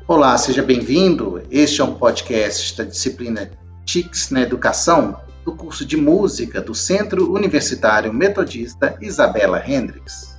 Olá, seja bem-vindo. Este é um podcast da disciplina TICS na Educação, do curso de Música do Centro Universitário Metodista Isabela Hendricks.